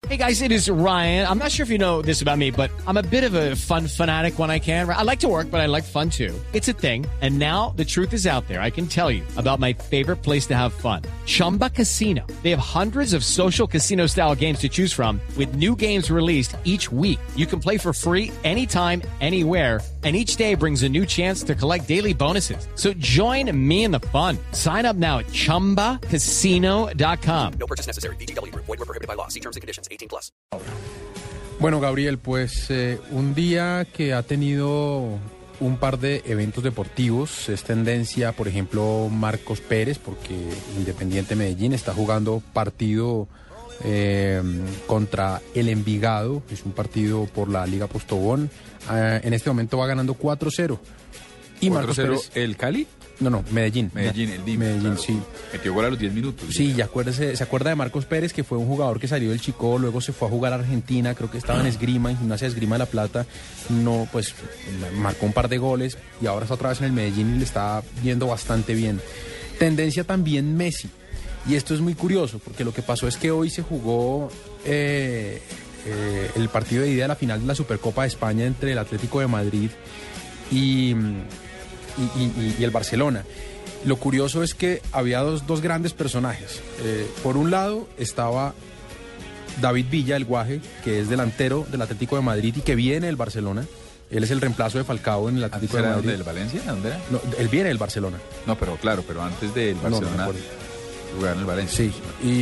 Hey guys, it is Ryan. I'm not sure if you know this about me, but I'm a bit of a fun fanatic when I can. I like to work, but I like fun too. It's a thing. And now the truth is out there. I can tell you about my favorite place to have fun. Chumba Casino. They have hundreds of social casino style games to choose from with new games released each week. You can play for free anytime, anywhere. And each day brings a new chance to collect daily bonuses. So join me in the fun. Sign up now at ChumbaCasino.com. No purchase necessary. VGW Group. Void where prohibited by law. See terms and conditions. 18+. Bueno, Gabriel, pues un día que ha tenido un par de eventos deportivos, es tendencia, por ejemplo, Marcos Pérez, porque Independiente Medellín está jugando partido contra el Envigado, es un partido por la Liga Postobón, en este momento va ganando 4-0. Y Marcos Pérez, ¿el Cali? No, Medellín. El DIM. Medellín, claro. sí. Metió gol a los 10 minutos. Sí, y se acuerda de Marcos Pérez, que fue un jugador que salió del Chicó, luego se fue a jugar a Argentina, creo que estaba en Esgrima, en Gimnasia de Esgrima de La Plata, no, pues marcó un par de goles y ahora está otra vez en el Medellín y le está yendo bastante bien. Tendencia también Messi, y esto es muy curioso, porque lo que pasó es que hoy se jugó el partido de ida de la final de la Supercopa de España entre el Atlético de Madrid y el Barcelona. Lo curioso es que había dos grandes personajes. Por un lado estaba David Villa, el Guaje, que es delantero del Atlético de Madrid y que viene del Barcelona. Él es el reemplazo de Falcao en el Atlético de Madrid. ¿Del Valencia? ¿Dónde era? No, él viene del Barcelona. No, pero antes del Barcelona jugaba en el Valencia. Sí,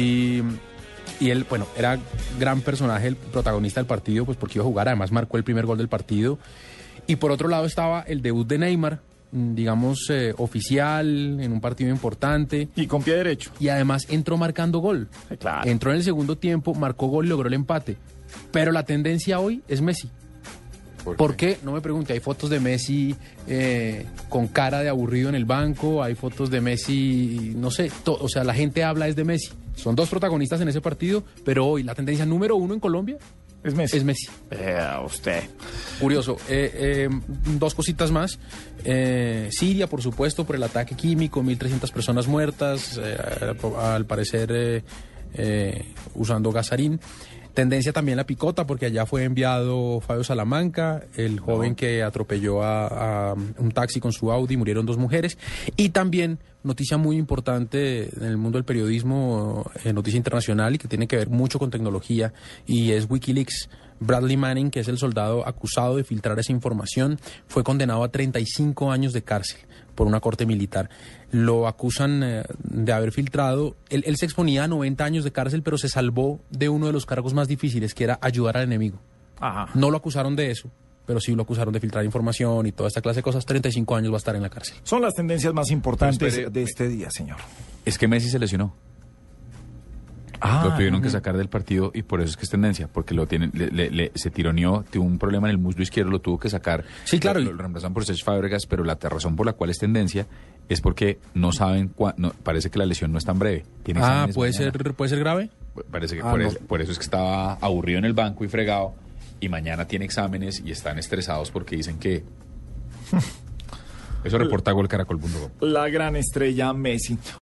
y él, bueno, era gran personaje, el protagonista del partido, pues porque iba a jugar, además marcó el primer gol del partido. Y por otro lado estaba el debut de Neymar, digamos, oficial, en un partido importante. Y con pie derecho. Y además entró marcando gol. Claro. Entró en el segundo tiempo, marcó gol y logró el empate. Pero la tendencia hoy es Messi. ¿Por qué? No me pregunte. Hay fotos de Messi con cara de aburrido en el banco, hay fotos de Messi, no sé, o sea, la gente habla es de Messi. Son dos protagonistas en ese partido, pero hoy la tendencia número uno en Colombia es Messi. Es Messi. Usted. Curioso. Dos cositas más. Siria, por supuesto, por el ataque químico, 1.300 personas muertas, al parecer usando gasarín. Tendencia también la picota, porque allá fue enviado Fabio Salamanca, el joven que atropelló a un taxi con su Audi, murieron 2 mujeres. Y también, noticia muy importante en el mundo del periodismo, noticia internacional y que tiene que ver mucho con tecnología, y es Wikileaks. Bradley Manning, que es el soldado acusado de filtrar esa información, fue condenado a 35 años de cárcel por una corte militar. Lo acusan de haber filtrado. Él se exponía a 90 años de cárcel, pero se salvó de uno de los cargos más difíciles, que era ayudar al enemigo. Ajá. No lo acusaron de eso, pero sí lo acusaron de filtrar información y toda esta clase de cosas. 35 años va a estar en la cárcel. Son las tendencias más importantes de este día, señor. Es que Messi se lesionó. Lo tuvieron que sacar del partido y por eso es que es tendencia, porque se tironeó, tuvo un problema en el muslo izquierdo, lo tuvo que sacar. Sí, claro. Lo reemplazan por Cesc Fábregas, pero la razón por la cual es tendencia es porque no saben parece que la lesión no es tan breve. ¿Puede ser grave? Parece que por eso es que estaba aburrido en el banco y fregado, y mañana tiene exámenes y están estresados porque dicen que... Eso reporta Gol Caracol.com. La gran estrella Messi.